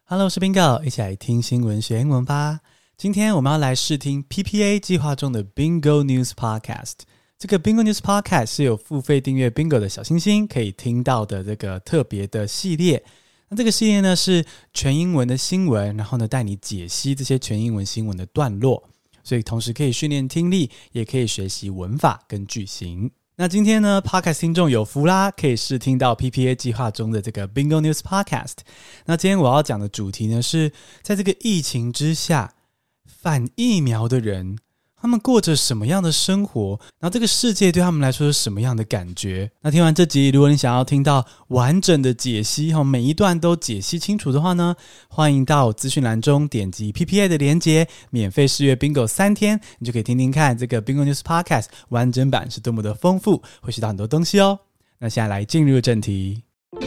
Hello， 我是 Bingo， 一起來聽新聞學英文吧。今天我們要來試聽 PPA 計劃中的 Bingo News Podcast。這個 Bingo News Podcast 是有付費訂閱 Bingo 的小星星可以聽到的這個特別的系列。那這個系列呢是全英文的新聞，然後呢帶你解析這些全英文新聞的段落，所以同時可以訓練聽力，也可以學習文法跟句型。那今天呢 Podcast 聽眾有福啦，可以試聽到 PPA 計劃中的這個 Bingo News Podcast。那今天我要講的主題呢是在這個疫情之下，反疫苗的人他們過着什麼樣的生活，然後這個世界對他們來說是什麼樣的感覺。那聽完這集，如果你想要聽到完整的解析，每一段都解析清楚的話呢，歡迎到資訊欄中點擊 PPA 的連結，免費試閱 Bingo 3天，你就可以聽聽看這個 Bingo News Podcast 完整版是多麼的豐富，會學到很多東西哦。那現在來進入正題。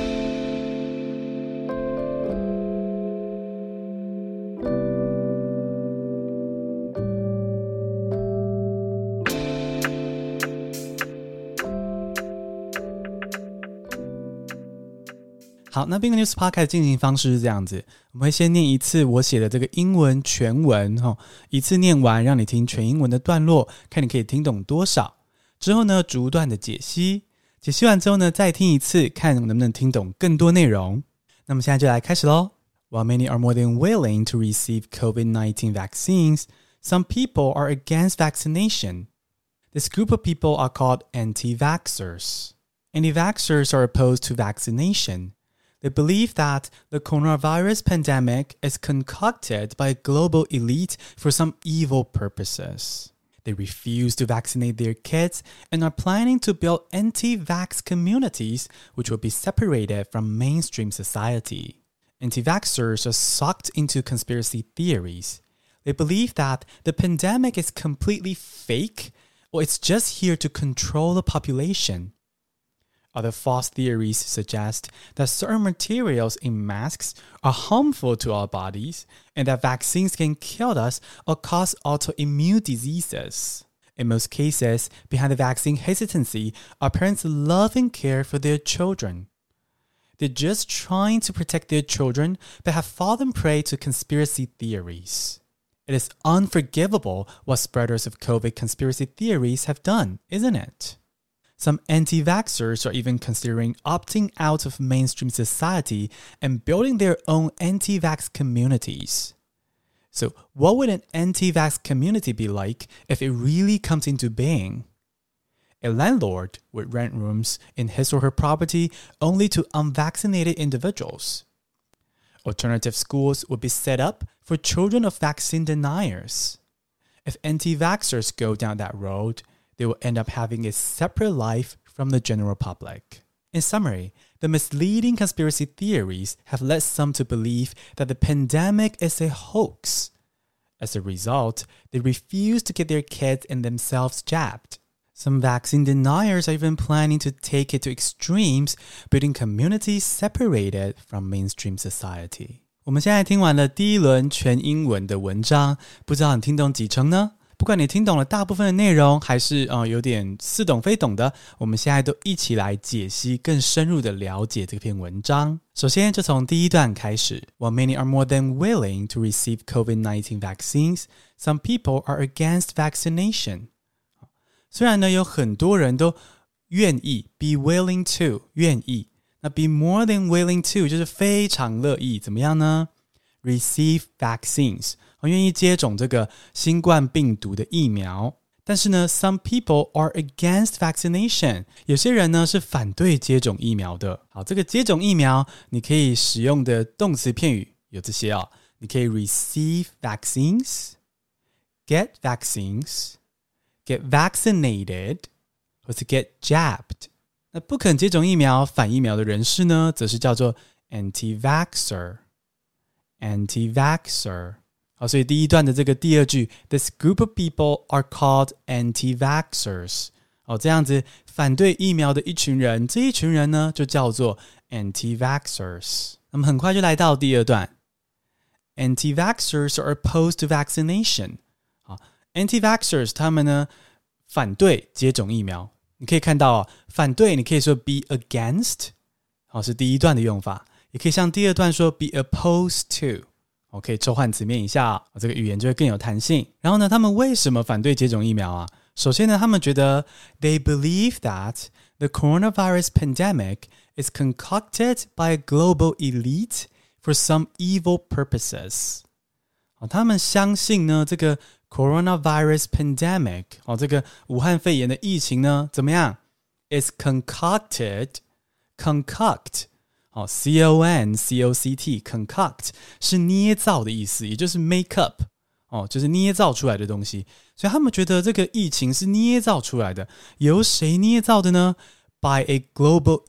好，那 Bingo News Podcast 進行方式是這樣子，我們會先念一次我寫的這個英文全文，一次念完讓你聽全英文的段落，看你可以聽懂多少。之後呢，逐段的解析，解析完之後呢，再聽一次，看能不能聽懂更多內容。那麼現在就來開始咯。While many are more than willing to receive COVID-19 vaccines, some people are against vaccination. This group of people are called anti-vaxxers. Anti-vaxxers are opposed to vaccination.They believe that the coronavirus pandemic is concocted by a global elite for some evil purposes. They refuse to vaccinate their kids and are planning to build anti-vax communities which will be separated from mainstream society. Anti-vaxxers are sucked into conspiracy theories. They believe that the pandemic is completely fake or it's just here to control the population.Other false theories suggest that certain materials in masks are harmful to our bodies and that vaccines can kill us or cause autoimmune diseases. In most cases, behind the vaccine hesitancy are parents' love and care for their children. They're just trying to protect their children but have fallen prey to conspiracy theories. It is unforgivable what spreaders of COVID conspiracy theories have done, isn't it?Some anti-vaxxers are even considering opting out of mainstream society and building their own anti-vax communities. So, what would an anti-vax community be like if it really comes into being? A landlord would rent rooms in his or her property only to unvaccinated individuals. Alternative schools would be set up for children of vaccine deniers. If anti-vaxxers go down that road,They will end up having a separate life from the general public. In summary, the misleading conspiracy theories have led some to believe that the pandemic is a hoax. As a result, they refuse to get their kids and themselves jabbed. Some vaccine deniers are even planning to take it to extremes, building communities separated from mainstream society. 我們現在聽完了第一輪全英文的文章，不知道你聽懂幾成呢？不管你聽懂了大部分的內容，還是有點似懂非懂的，我們現在都一起來解析，更深入的了解這篇文章。首先就從第一段開始。While many are more than willing to receive COVID-19 vaccines, some people are against vaccination. 雖然呢有很多人都願意 be willing to 願意，那 be more than willing to 就是非常樂意，怎麼樣呢？ Receive vaccines願意接種這個新冠病毒的疫苗，但是呢 some people are against vaccination， 有些人呢是反對接種疫苗的。好，這個接種疫苗你可以使用的動詞片語有這些你可以 receive vaccines, get vaccines, get vaccinated 或是 get jabbed。 那不肯接種疫苗反疫苗的人士呢，則是叫做 anti-vaxxer。 好，所以第一段的這個第二句 This group of people are called anti-vaxxers。 這樣子反對疫苗的一群人，這一群人呢就叫做 anti-vaxxers。 那麼很快就來到第二段 Anti-vaxxers are opposed to vaccination。 Anti-vaxxers 他們呢反對接種疫苗。你可以看到反對你可以說 be against， 是第一段的用法， 也可以像第二段說 be opposed to， 可以抽換詞面一下這個語言就會更有彈性。然後呢，他們為什麼反對接種疫苗啊？首先呢，他們覺得 they believe that the coronavirus pandemic is concocted by a global elite for some evil purposes。他們相信呢，這個 coronavirus pandemic， 這個武漢肺炎的疫情呢，怎麼樣 is concocted， concoct， C-O-N-C-O-C-T， concoct 是捏造的意思，也就是 make up， 就是捏造出來的東西。所以他們覺得這個疫情是捏造出來的，由誰捏造的呢？ By a global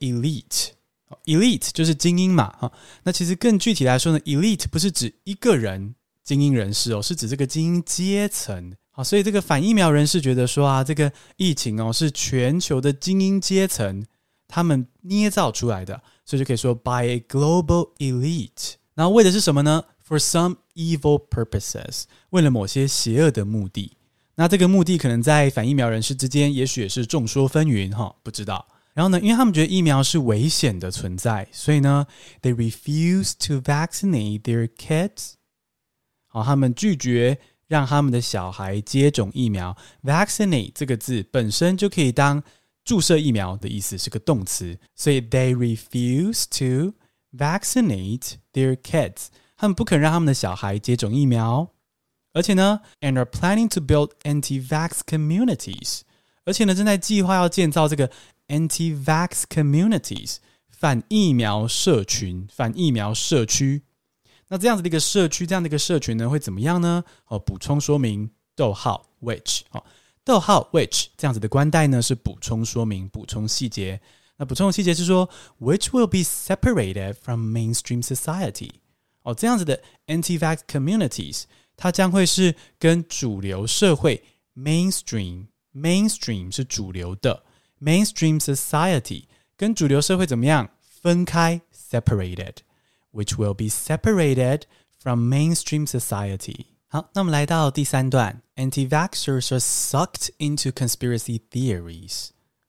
elite。Elite 就是精英嘛，那其實更具體來說呢 ，elite 不是指一個人精英人士是指這個精英階層。好，所以這個反疫苗人士覺得說啊，這個疫情是全球的精英階層他們捏造出來的，所以就可以說 by a global elite。然後為的是什麼呢？ For some evil purposes， 為了某些邪惡的目的。那這個目的可能在反疫苗人士之間，也許也是眾說紛紜，不知道。然後呢，因為他們覺得疫苗是危險的存在，所以呢 they refuse to vaccinate their kids。 他們拒絕讓他們的小孩接種疫苗。 Vaccinate 這個字本身就可以當注射疫苗的意思，是個動詞，所以 they refuse to vaccinate their kids。 他們不肯讓他們的小孩接種疫苗，而且呢 and are planning to build anti-vax communities。 而且呢，正在計劃要建造這個anti-vax communities， 反疫苗社群、反疫苗社區。那這樣子的一個社區，這樣的一個社群呢，會怎麼樣呢？補充說明逗號 which， 逗號 which 這樣子的關代呢，是補充說明、補充細節。那補充的細節是說 which will be separated from mainstream society。這樣子的 anti-vax communities， 它將會是跟主流社會 mainstream 是主流的。Mainstream society 跟主流社會怎麼樣？分開 separated， which will be separated from mainstream society。 好，那我們來到第三段 Anti-vaxxers are sucked into conspiracy theories。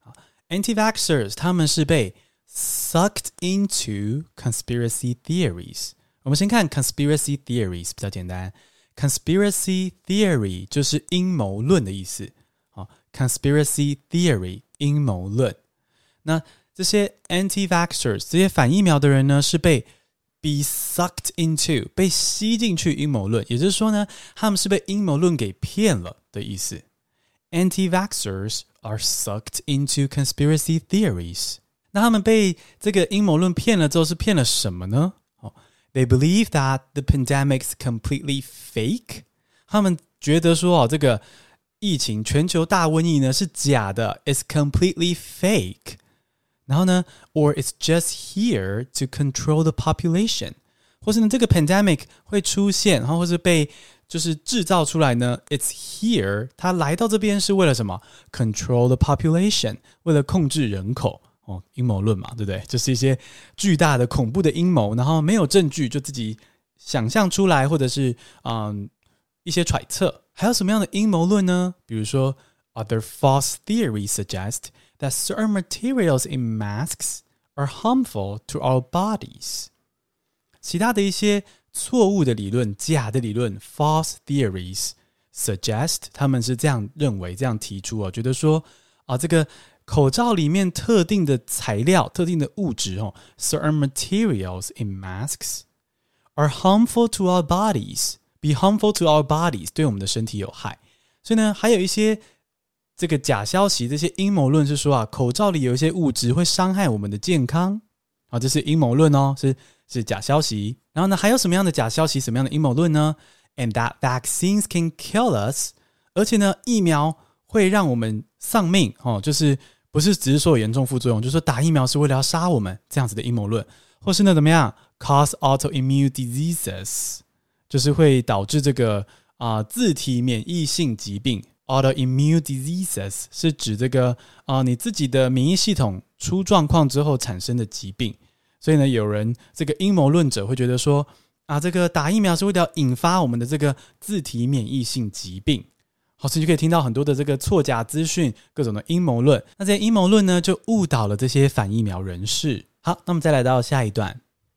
Anti-vaxxers 他們是被 sucked into conspiracy theories。 我們先看 conspiracy theories 比較簡單， conspiracy theory 就是陰謀論的意思。Conspiracy theory 陰謀論。那這些 anti-vaxxers 這些反疫苗的人呢，是被 be sucked into 被吸進去陰謀論，也就是說呢，他們是被陰謀論給騙了的意思。Anti-vaxxers are sucked into conspiracy theories。 那他們被這個陰謀論騙了之後，是騙了什麼呢？They believe that the pandemic is completely fake。 他們覺得說這個疫情全球大瘟疫呢是假的 ，is completely fake。 然後呢 or it's just here to control the population， 或是呢這個 pandemic 會出現，然後或是被就是制造出來呢 ，it's here， 它來到這邊是為了什麼 ？control the population， 為了控制人口。陰謀論嘛，對不對？就是一些巨大的恐怖的陰謀，然後沒有證據就自己想象出來，或者是一些揣測。還有什麼樣的陰謀論呢？比如說 other false theories suggest that certain materials in masks are harmful to our bodies。 其他的一些錯誤的理論、假的理論 false theories suggest， 他們是這樣認為、這樣提出覺得說這個口罩裡面特定的材料、特定的物質certain materials in masks are harmful to our bodies。Be harmful to our bodies， 对我們的身體有害。所以呢，還有一些這個假消息，這些陰謀論是說口罩裡有一些物質會傷害我們的健康。這是陰謀論是假消息。然後呢，還有什麼樣的假消息，什麼樣的陰謀論呢？ And that vaccines can kill us， 而且呢，疫苗會讓我們喪命。就是不是只是說有嚴重副作用，就是說打疫苗是為了要殺我們，這樣子的陰謀論。或是呢，怎麼樣 cause autoimmune diseases，就是會導致這個自體免疫性疾病 autoimmune diseases 是指這個你自己的免疫系統出狀況之後產生的疾病。所以呢，有人這個陰謀論者會覺得說這個打疫苗是為了引發我們的這個自體免疫性疾病。好，所以就可以聽到很多的這個錯假資訊，各種的陰謀論。那這些陰謀論呢，就誤導了這些反疫苗人士。好，那麼再來到下一段。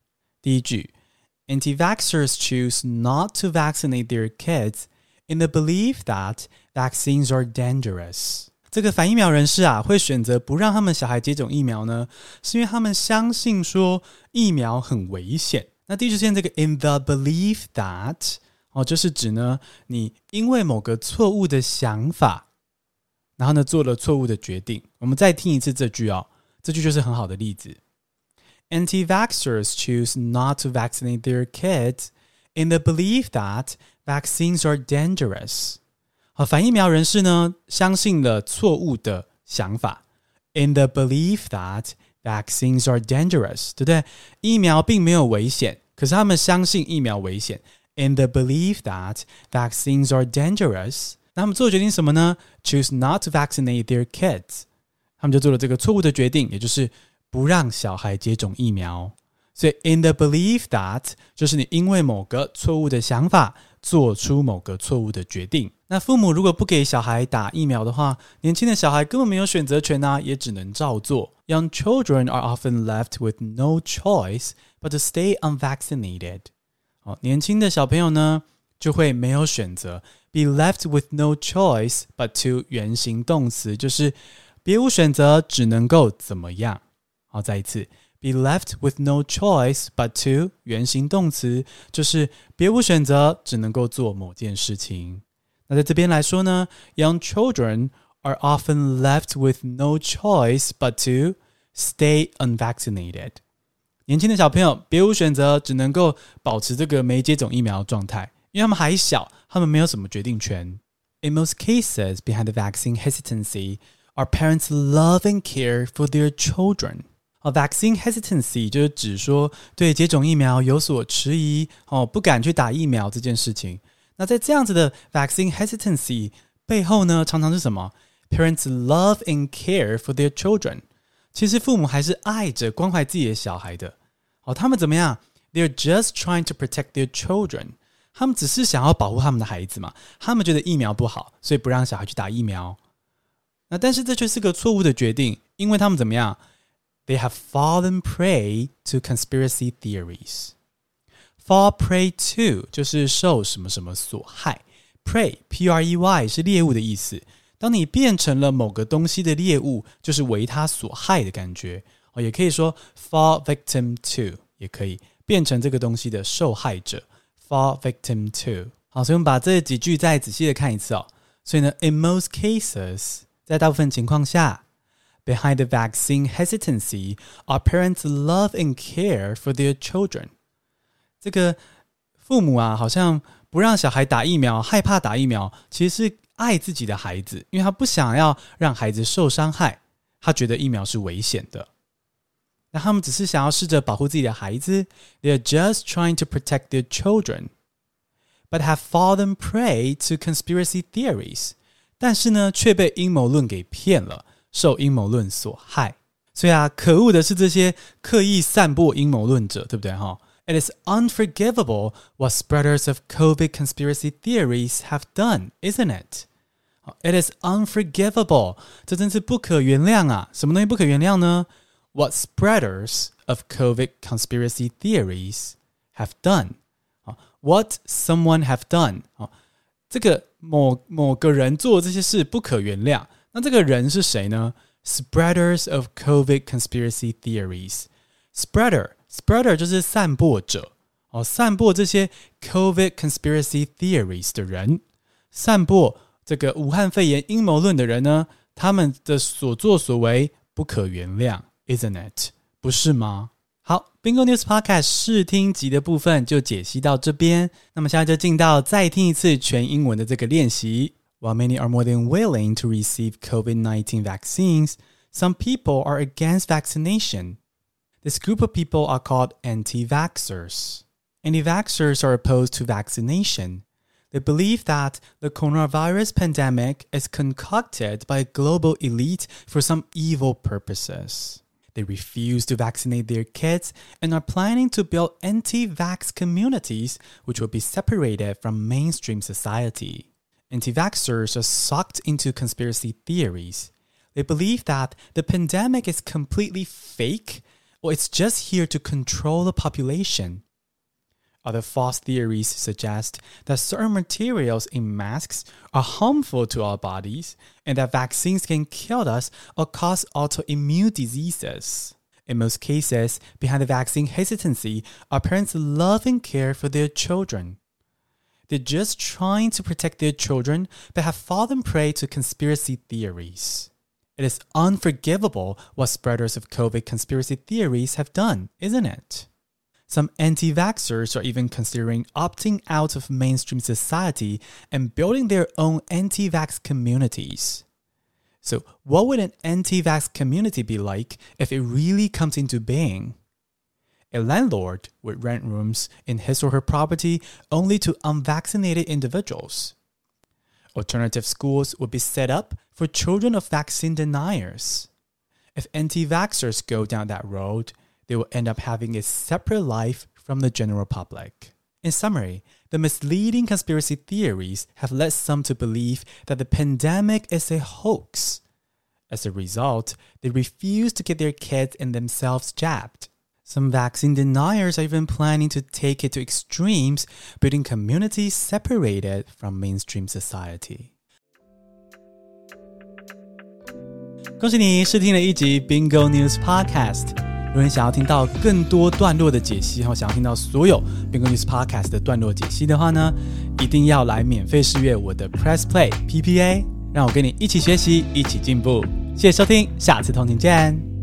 第一句 Anti-vaxxers choose not to vaccinate their kids in the belief that vaccines are dangerous. 這個反疫苗人士啊，會選擇不讓他們小孩接種疫苗呢，是因為他們相信說疫苗很危險。那第一句出現這個 in the belief that 就是指呢，你因為某個錯誤的想法，然後呢做了錯誤的決定。我們再聽一次這句哦，這句就是很好的例子。Anti-vaxxers choose not to vaccinate their kids in the belief that vaccines are dangerous. 反疫苗人士呢，相信了錯誤的想法 in the belief that vaccines are dangerous, 對不對？疫苗並沒有危險，可是他們相信疫苗危險 in the belief that vaccines are dangerous. 那他們做的決定什麼呢？ Choose not to vaccinate their kids. 他們就做了這個錯誤的決定，也就是不讓小孩接種疫苗。所以 in the belief that 就是你因為某個錯誤的想法做出某個錯誤的決定。那父母如果不給小孩打疫苗的話，年輕的小孩根本沒有選擇權啊，也只能照做。Young children are often left with no choice but to stay unvaccinated. 年輕的小朋友呢，就會沒有選擇。Be left with no choice but to 原形動詞，就是別無選擇，只能夠怎麼樣。好，再一次。Be left with no choice but to 原形動詞，就是別無選擇，只能夠做某件事情。那在這邊來說呢 Young children are often left with no choice but to stay unvaccinated. 年輕的小朋友別無選擇，只能夠保持這個沒接種疫苗的狀態，因為他們還小，他們沒有什麼決定權。In most cases, behind the vaccine hesitancy are parents' love and care for their children.Vaccine hesitancy 就是指說對接種疫苗有所遲疑，不敢去打疫苗這件事情。那在這樣子的 vaccine hesitancy 背後呢，常常是什麼？ Parents love and care for their children. 其實父母還是愛着關懷自己的小孩的。他們怎麼樣？ They're just trying to protect their children. 他們只是想要保護他們的孩子嘛。他們覺得疫苗不好，所以不讓小孩去打疫苗。那但是這卻是個錯誤的決定，因為他們怎麼樣？They have fallen prey to conspiracy theories. Fall prey to 就是受什麼什麼所害。Prey, P-R-E-Y 是獵物的意思。當你變成了某個東西的獵物，就是為它所害的感覺。也可以說 fall victim to 也可以變成這個東西的受害者。Fall victim to. 好，所以我們把這幾句再仔細的看一次哦。所以呢 in most cases 在大部分情況下Behind the vaccine hesitancy are parents' love and care for their children. 這個父母啊，好像不讓小孩打疫苗，害怕打疫苗，其實是愛自己的孩子，因為他不想要讓孩子受傷害，他覺得疫苗是危險的。那他們只是想要試着保護自己的孩子 They're just trying to protect their children, but have fallen prey to conspiracy theories. 但是呢，卻被陰謀論給騙了。受陰謀論所害。所以啊，可惡的是這些刻意散播陰謀論者，對不對？It is unforgivable what spreaders of COVID conspiracy theories have done, isn't it? It is unforgivable. 這真是不可原諒啊！什麼東西不可原諒呢？ What spreaders of COVID conspiracy theories have done. What someone have done. 這個某個人做這些事不可原諒。那這個人是誰呢？ Spreaders of COVID conspiracy theories. Spreader 就是散播者，散播這些 COVID conspiracy theories 的人，散播這個武漢肺炎陰謀論的人呢，他們的所作所為不可原諒 ，isn't it？ 不是嗎？好 ，Bingo News Podcast 試聽集的部分就解析到這邊，那麼現在就進到再聽一次全英文的這個練習。While many are more than willing to receive COVID-19 vaccines, some people are against vaccination. This group of people are called anti-vaxxers. Anti-vaxxers are opposed to vaccination. They believe that the coronavirus pandemic is concocted by a global elite for some evil purposes. They refuse to vaccinate their kids and are planning to build anti-vax communities which will be separated from mainstream society.Anti-vaxxers are sucked into conspiracy theories. They believe that the pandemic is completely fake or it's just here to control the population. Other false theories suggest that certain materials in masks are harmful to our bodies and that vaccines can kill us or cause autoimmune diseases. In most cases, behind the vaccine hesitancy are parents' love and care for their children. They're just trying to protect their children but have fallen prey to conspiracy theories. It is unforgivable what spreaders of COVID conspiracy theories have done, isn't it? Some anti-vaxxers are even considering opting out of mainstream society and building their own anti-vax communities. So what would an anti-vax community be like if it really comes into being? A landlord would rent rooms in his or her property only to unvaccinated individuals. Alternative schools would be set up for children of vaccine deniers. If anti-vaxxers go down that road, they will end up having a separate life from the general public. In summary, the misleading conspiracy theories have led some to believe that the pandemic is a hoax. As a result, they refuse to get their kids and themselves jabbed. Some vaccine deniers are even planning to take it to extremes, building communities separated from mainstream society. 恭喜你試聽了一集 Bingo News Podcast。如果你想要聽到更多段落的解析，或想要聽到所有 Bingo News Podcast 的段落解析的話呢，一定要來免費試閱我的 Press Play PPA， 讓我跟你一起學習，一起進步。謝謝收聽，下次通勤見。